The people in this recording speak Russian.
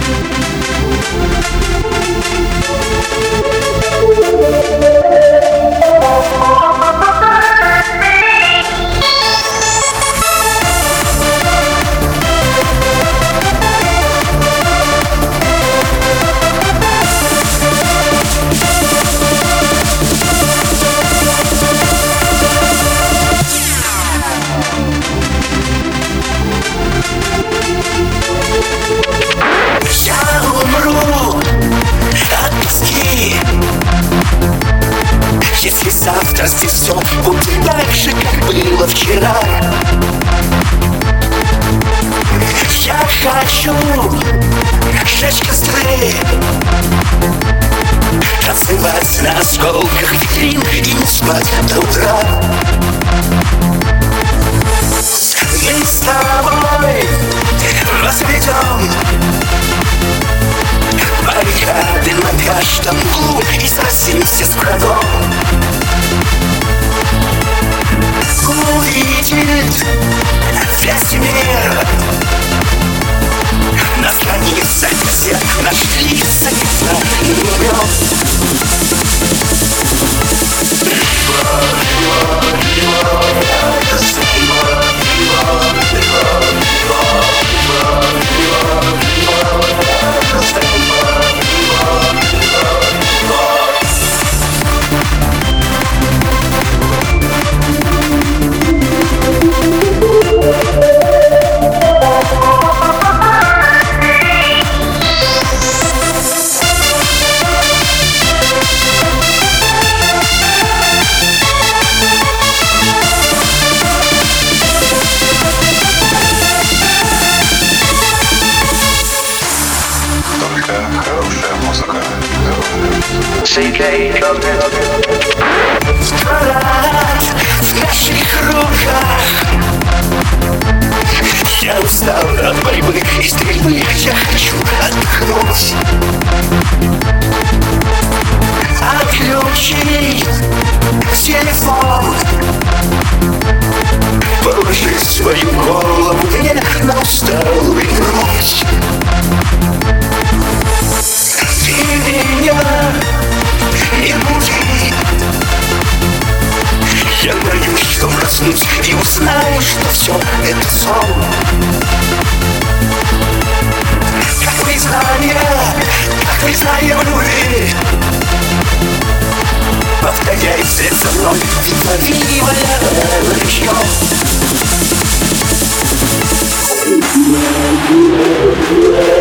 Если завтра здесь все будет так же, как было вчера, я хочу сжечь костры, танцевать на осколках витрин и не спать до утра. Мы с тобой возведем баррикады на каждом углу и сразимся с врагом. Увидит весь мир на страницах газет наши лица не умрем. Хорошая музыка. В наших руках я устал от борьбы и стрельбы. Я хочу отдохнуть, отключить телефон, положить свою голову мне на усталую грудь. Ты меня не буди, я боюсь, что проснусь и узнаю, что все это сон. Как признание в любви, повторяй вслед за мной, видовивая ручьем.